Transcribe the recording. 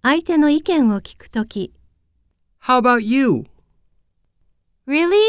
相手の意見を聞くとき、 How about you? Really?